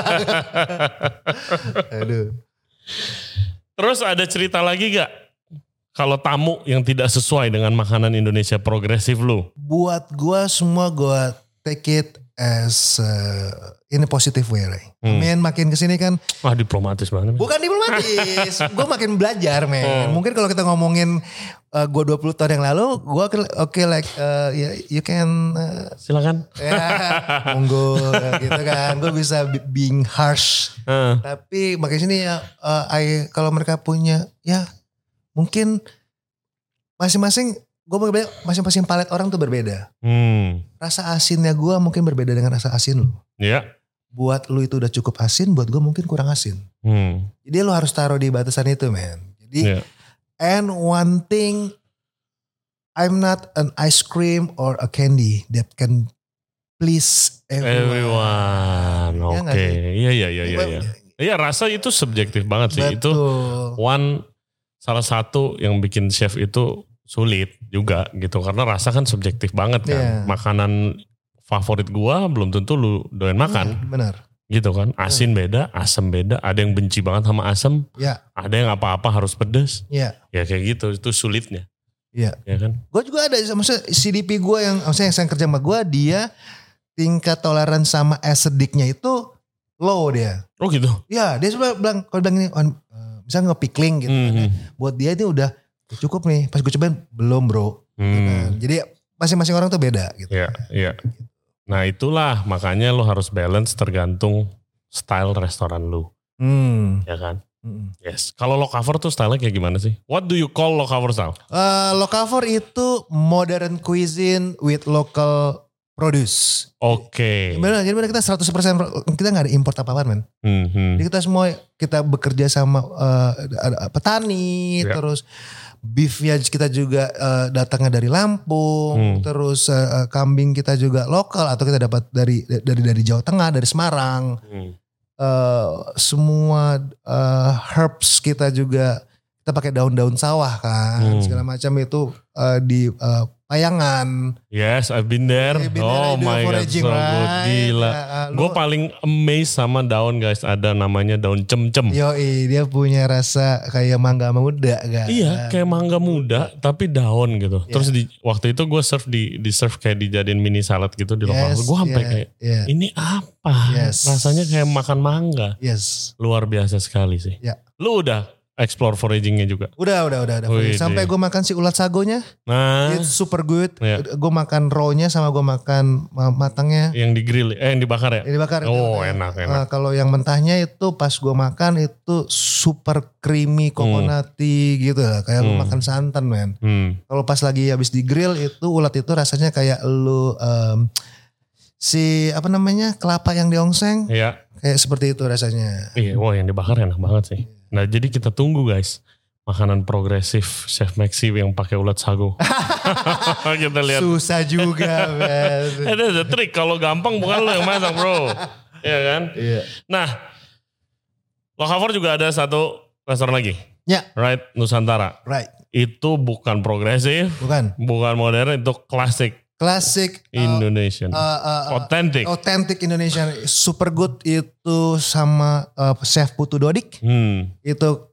Aduh. Terus ada cerita lagi gak? Kalau tamu yang tidak sesuai dengan makanan Indonesia progresif lu? Buat gue semua gue take it as in a positive way, right? Makin kesini kan. Wah diplomatis banget. Bukan diplomatis. Gue makin belajar, men. Mungkin kalau kita ngomongin gue 20 tahun yang lalu, gue you can. Silakan. Monggo gitu kan. Gue bisa being harsh. Tapi makin sini ya, kalau mereka punya, ya mungkin masing-masing. Gue berbeda, masing-masing palet orang tuh berbeda. Rasa asinnya gue mungkin berbeda dengan rasa asin lu. Iya. Buat lu itu udah cukup asin, buat gue mungkin kurang asin. Jadi lu harus taruh di batasan itu, man. Jadi, and one thing, I'm not an ice cream or a candy that can please everyone. Oke. Iya. Iya, rasa itu subjektif banget sih. Betul. Itu salah satu yang bikin chef itu sulit juga gitu karena rasa kan subjektif banget kan. Makanan favorit gua belum tentu lu doyan makan. Benar. Gitu kan. Asin beda, asam beda. Ada yang benci banget sama asam. Ada yang apa-apa harus pedes. Ya kayak gitu. Itu sulitnya. Ya kan. Gua juga ada maksudnya CDP gua yang maksudnya yang kerja sama gua, dia tingkat toleran sama acidicnya itu low dia. Oh gitu. Ya, dia coba bilang kalau bilang ini misalnya nge-pickling gitu kan. Buat dia itu udah cukup nih, pas gue cobain belum bro. Jadi masing-masing orang tuh beda gitu. Iya. Nah itulah makanya lo harus balance tergantung style restoran lu. Ya kan? Yes. Kalau lo cover tuh style kayak gimana sih? What do you call lo cover style? Lo cover itu modern cuisine with local produce. Oke. Jadi benar kita 100% kita gak ada import apa-apaan men. Jadi kita semua kita bekerja sama petani, terus beefnya kita juga datangnya dari Lampung, terus kambing kita juga lokal atau kita dapat dari Jawa Tengah, dari Semarang. Semua herbs kita juga kita pakai daun-daun sawah kan, segala macam itu di Payangan. Yes, I've been there. Oh my God, so good. Gila. Gue paling amazed sama daun guys. Ada namanya daun cem-cem. Yoi, dia punya rasa kayak mangga muda kan. Iya, kayak mangga muda tapi daun gitu. Terus waktu itu gue serve kayak dijadiin mini salad gitu di lokal. Gue sampai kayak ini apa? Rasanya kayak makan mangga. Luar biasa sekali sih. Lu udah explore foragingnya juga? Udah. Sampai gue makan si ulat sagonya. It's super good. Gue makan raw-nya sama gue makan matangnya. Yang di grill, yang dibakar ya? Yang dibakar. Oh enak. Kalau yang mentahnya itu pas gue makan itu super creamy, coconutty gitu lah. Kayak lu makan santan men. Kalau pas lagi habis di grill itu ulat itu rasanya kayak lu si apa namanya kelapa yang diongseng. Iya. Kayak seperti itu rasanya. Iya, wah yang dibakar enak banget sih. Nah jadi kita tunggu guys makanan progresif Chef Maxi yang pakai ulat sago. Kita lihat. Susah juga man. Ada trik, kalau gampang bukan lo yang masak bro. Iya kan? Iya. Nah lo cover juga ada satu restoran lagi. Ya. Right, Nusantara. Right. Itu bukan progresif. Bukan modern, itu klasik. Klasik Indonesian. Authentic Indonesian. Super good itu sama Chef Putu Dodik. Itu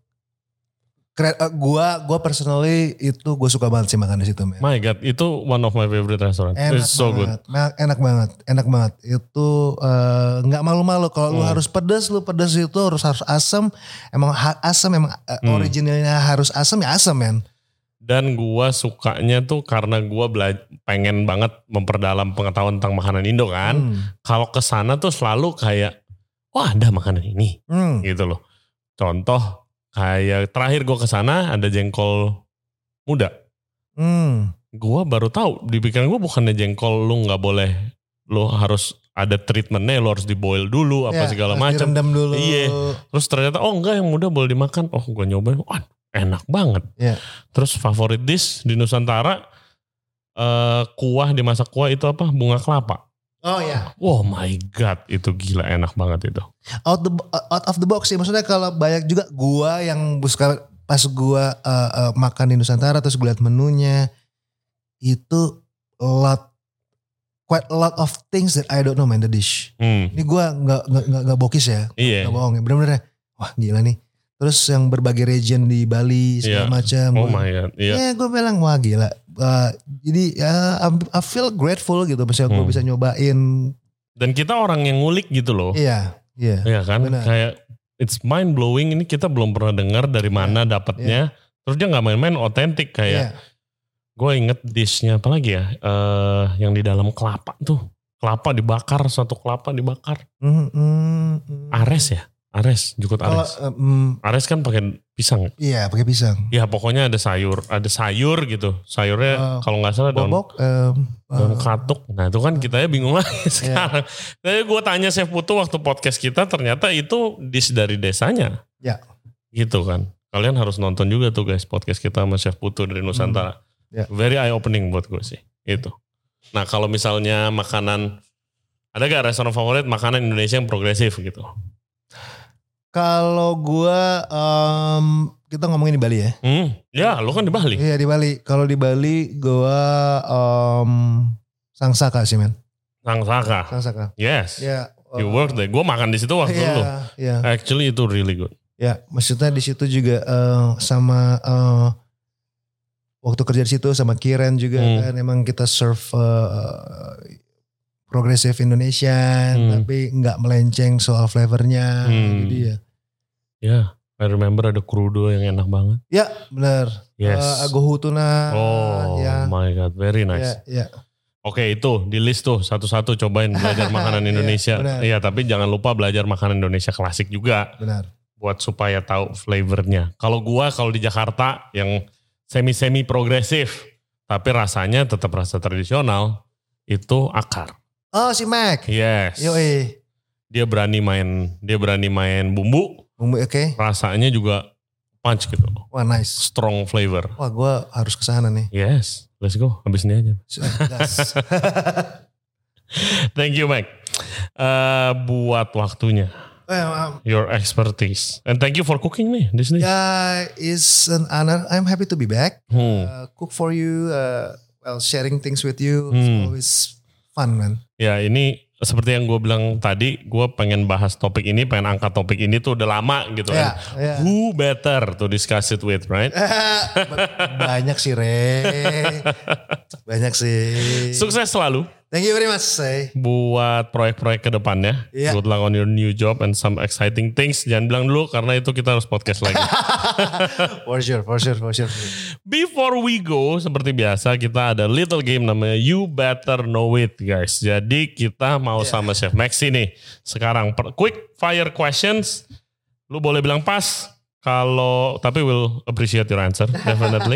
gua personally itu gue suka banget sih makan di situ. Man. My God, itu one of my favorite restaurant. It's so good. Enak banget. Itu nggak malu-malu kalau lu harus pedas, itu harus asam. Emang originalnya harus asam ya asam men. Dan gue sukanya tuh karena gue pengen banget memperdalam pengetahuan tentang makanan Indo kan. Kalau kesana tuh selalu kayak, wah ada makanan ini, gitu loh. Contoh kayak terakhir gue kesana ada jengkol muda. Gua baru tahu, di pikiran gua bukannya jengkol lu nggak boleh, lu harus ada treatmentnya, lu harus diboil dulu apa segala macam. Direndam dulu. Iya. Terus ternyata enggak, yang muda boleh dimakan. Oh, gua nyobain, enak banget. Yeah. Terus favorit dish di Nusantara, kuah, dimasak kuah itu apa? Bunga kelapa. Oh ya. Oh my god, itu gila enak banget itu. Out of the box sih, maksudnya kalau banyak juga gua yang pas gua makan di Nusantara terus gue liat menunya itu quite a lot of things that I don't know man, the dish. Ini gue nggak bokis ya, nggak bohong ya, bener-bener wah gila nih. Terus yang berbagai region di Bali segala macam. Oh my god. Ya gue bilang wah gila. Jadi ya I feel grateful gitu, misalnya gue bisa nyobain. Dan kita orang yang ngulik gitu loh. Iya kan, benar. Kayak it's mind blowing, ini kita belum pernah dengar dari mana dapatnya. Terus dia nggak main-main, otentik kayak. Gue inget dishnya apa lagi ya, yang di dalam kelapa tuh, kelapa dibakar, satu kelapa dibakar. Ares ya, jukut ares. Ares kan pakai pisang. Iya, pakai pisang. Ya pokoknya ada sayur gitu. Sayurnya kalau nggak salah daun katuk. Nah itu kan kita bingung lagi sekarang. Tapi gue tanya Chef Putu waktu podcast kita, ternyata itu dish dari desanya. Ya. Gitu kan. Kalian harus nonton juga tuh guys podcast kita sama Chef Putu dari Nusantara. Very eye opening buat gue sih itu. Nah kalau misalnya makanan, ada gak restoran favorit makanan Indonesia yang progresif gitu? Kalau gue kita ngomongin di Bali ya. Ya lu kan di Bali. Iya di Bali. Kalau di Bali gue Sangsaka sih men. Sangsaka. Yes. You work there. Gue makan di situ waktu dulu. Actually itu really good. Ya maksudnya di situ juga sama waktu kerja di situ sama Kiren juga kan, emang kita serve progressive Indonesian tapi nggak melenceng soal flavornya. Jadi ya. I remember ada crudo yang enak banget. Ya benar. Yes. Agohu tuna. Oh my god, very nice. Oke, itu di list tuh satu-satu cobain belajar makanan Indonesia. Iya tapi jangan lupa belajar makanan Indonesia klasik juga. Benar. Buat supaya tahu flavornya. Kalau di Jakarta yang semi progresif, tapi rasanya tetap rasa tradisional, itu Akar. Oh si Mac. Yes. Yoi. Dia berani main bumbu. Oke. Rasanya juga punch gitu. Wah nice. Strong flavor. Wah gue harus kesana nih. Yes. Let's go. Habis ini aja. Thank you Mac. Buat waktunya. Your expertise. And thank you for cooking me this day. Yeah, it's an honor. I'm happy to be back. Cook for you, sharing things with you. It's always fun, man. Ya, ini seperti yang gue bilang tadi, gue pengen bahas topik ini, pengen angkat topik ini tuh udah lama gitu kan. Who better to discuss it with, right? Banyak sih, Re. Banyak sih. Sukses selalu. Thank you very much, buat proyek-proyek ke depannya. Good luck on your new job and some exciting things. Jangan bilang dulu karena itu kita harus podcast lagi. For sure. Before we go, seperti biasa kita ada little game namanya You Better Know It, guys. Jadi kita mau sama Chef Maxi nih. Sekarang quick fire questions. Lu boleh bilang pas. Tapi we'll appreciate your answer, definitely.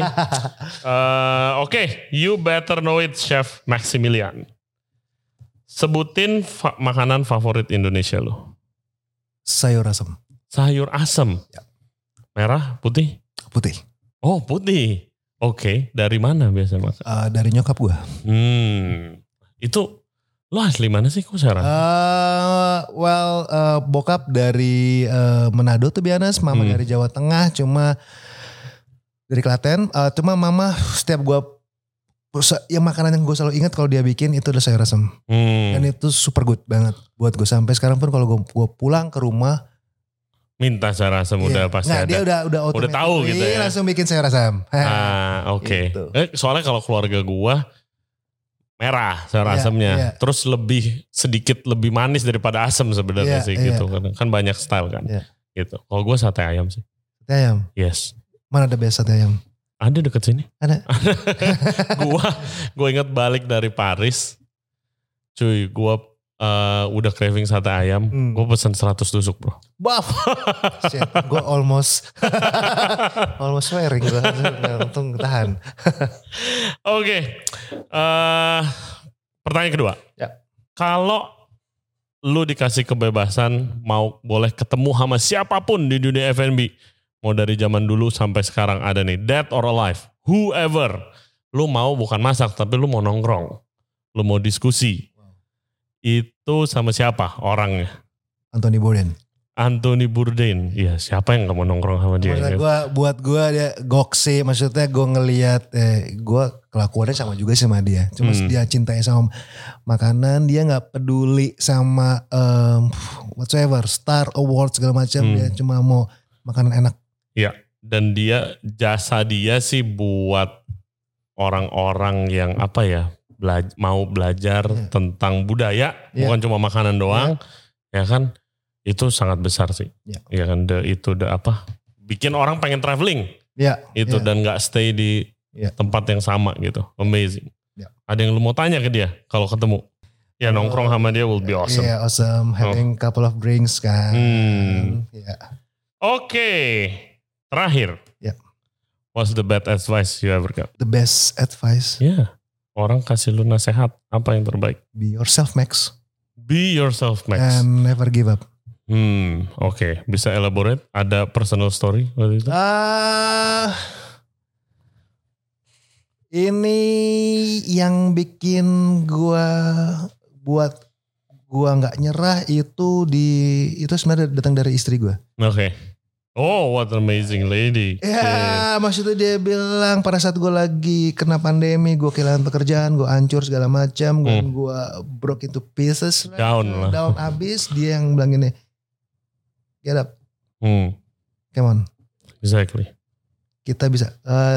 Oke, You Better Know It, Chef Maximilian. Sebutin makanan favorit Indonesia lo. Sayur asam. Sayur asam. Ya. Merah, putih? Putih. Oh putih. Oke, dari mana biasa makan? Dari nyokap gue. Itu lo asli mana sih kok sekarang? Bokap dari Manado tuh biasa, mama dari Jawa Tengah, cuma dari Klaten. Cuma mama setiap gue, yang makanan yang gue selalu ingat kalau dia bikin itu adalah sayur asam. Dan itu super good banget buat gue. Sampai sekarang pun kalau gue pulang ke rumah, minta sayur asam udah pasti ada. Dia udah tahu gitu ya. Langsung bikin sayur asam. Oke. Soalnya kalau keluarga gue merah sayur asamnya. Terus sedikit lebih manis daripada asam sebenarnya sih gitu. Kan banyak style kan. Gitu. Kalau gue sate ayam sih. Sate ayam? Yes. Mana ada biasa sate ayam? Ada deket sini. Ada. Gue ingat balik dari Paris. Cuy, gue udah craving sate ayam, gue pesen 100 tusuk bro. Baf. Shit, gue almost swearing gue. Untung tahan. Oke. Pertanyaan kedua. Ya. Kalau lu dikasih kebebasan mau boleh ketemu sama siapapun di dunia F&B. Mau dari zaman dulu sampai sekarang ada nih. Dead or alive. Whoever. Lu mau bukan masak tapi lu mau nongkrong. Lu mau diskusi. Itu sama siapa orangnya? Anthony Bourdain. Anthony Bourdain. Iya, siapa yang gak mau nongkrong sama dia? Buat gue dia gokse, maksudnya gue ngelihat gue kelakuannya sama juga sama dia. Cuma dia cintai sama makanan, dia gak peduli sama whatsoever, Star Award segala macam, dia cuma mau makanan enak. Iya, dan jasa dia sih buat orang-orang yang apa ya, mau belajar tentang budaya, bukan cuma makanan doang, ya kan? Itu sangat besar sih. Ya kan, bikin orang pengen traveling. Dan gak stay di tempat yang sama gitu. Amazing. Ada yang lu mau tanya ke dia kalau ketemu? Ya nongkrong sama dia will be awesome. Yeah, awesome. Having couple of drinks kan. Oke. Terakhir. What's the best advice you ever got? The best advice? Orang kasih lu nasihat. Apa yang terbaik? Be yourself, Max. Be yourself, Max. And never give up. Oke. Bisa elaborate? Ada personal story waktu itu? Ini yang bikin gua nggak nyerah itu sebenarnya datang dari istri gua. Oke. Oh, what an amazing lady. Maksudnya dia bilang pada saat gue lagi kena pandemi, gue kehilangan pekerjaan, gue hancur segala macam, gue broke into pieces, down abis, dia yang bilang gini, get up, come on, exactly, kita bisa,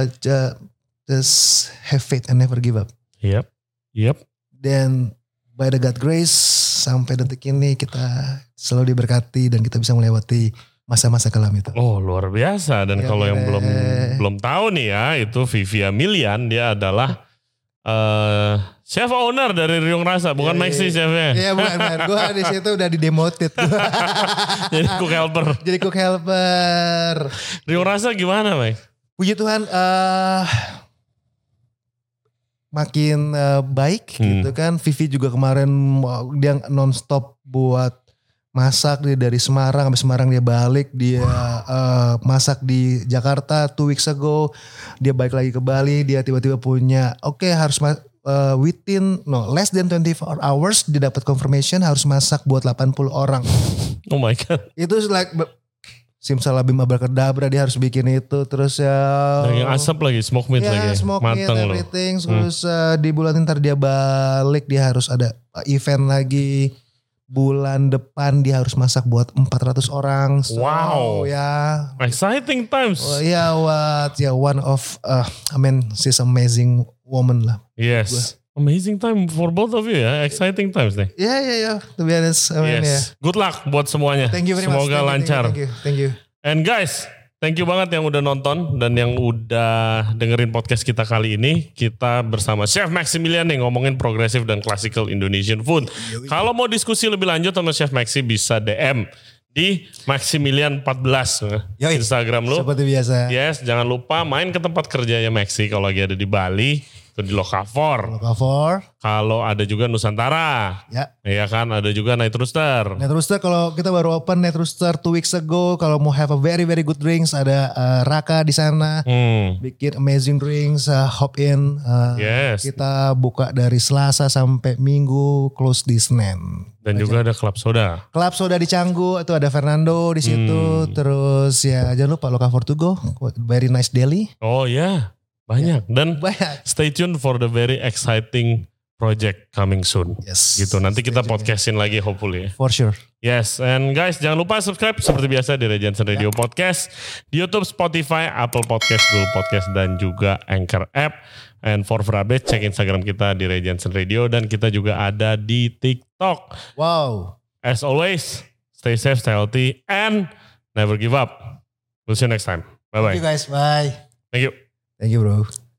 just have faith and never give up. Yep. Dan by the God grace sampai detik ini kita selalu diberkati dan kita bisa melewati masa-masa kelam itu. Oh, luar biasa. Dan kalau yang belum tahu nih ya, itu Vivi Amilian, dia adalah chef owner dari Riung Rasa, bukan Maxi chefnya. Iya, bukan. Gue di situ udah didemoted. Jadi cook helper. Riung Rasa gimana, Max? Puji Tuhan, makin baik gitu kan. Vivi juga kemarin dia nonstop buat masak, dia dari Semarang, sampai Semarang dia balik, dia masak di Jakarta 2 weeks ago, dia balik lagi ke Bali, dia tiba-tiba punya harus less than 24 hours dia dapat confirmation harus masak buat 80 orang. Oh my god. Itu like simsalabim abrakadabra, dia harus bikin itu, terus daging asap lagi, smoke meat lagi, smoke meat, everything. Terus di bulan ntar dia balik, dia harus ada event lagi. Bulan depan dia harus masak buat 400 orang. So, wow. Exciting times. One of, she's amazing woman lah. Yes. Amazing time for both of you ya. Exciting times nih. Yeah. To be honest. Good luck buat semuanya. Thank you very much. Semoga lancar. Thank you. And guys, thank you banget yang udah nonton dan yang udah dengerin podcast kita kali ini. Kita bersama Chef Maximilian nih ngomongin progressive dan classical Indonesian food. Kalau mau diskusi lebih lanjut sama Chef Maxi bisa DM di Maximilian 14 Instagram lu. Seperti biasa. Yes, jangan lupa main ke tempat kerjanya Maxi kalau lagi ada di Bali. Itu di Lokafor. Kalau ada juga Nusantara. Iya kan, ada juga Night Rooster. Night Rooster kalau kita baru open Night Rooster 2 weeks ago. Kalau mau have a very very good drinks, ada Raka di sana. Bikin amazing drinks, hop in. Yes. Kita buka dari Selasa sampai Minggu, close di Senin. Dan juga ada Club Soda. Club Soda di Canggu, itu ada Fernando di situ. Terus jangan lupa Lokafor to go, very nice deli. Oh ya. Banyak. Dan stay tuned for the very exciting project coming soon. Yes. Gitu. Nanti kita podcastin lagi hopefully. For sure. Yes. And guys, jangan lupa subscribe seperti biasa di Ray Jensen Radio Podcast. Di YouTube, Spotify, Apple Podcast, Google Podcast, dan juga Anchor App. And for update, cek Instagram kita di Ray Jensen Radio. Dan kita juga ada di TikTok. Wow. As always, stay safe, stay healthy, and never give up. We'll see you next time. Bye-bye. Thank you guys. Bye. Thank you. Thank you bro.